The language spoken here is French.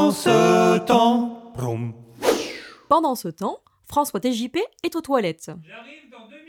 Pendant ce temps, vroom. Pendant ce temps, François TJP est aux toilettes. J'arrive dans 2 minutes.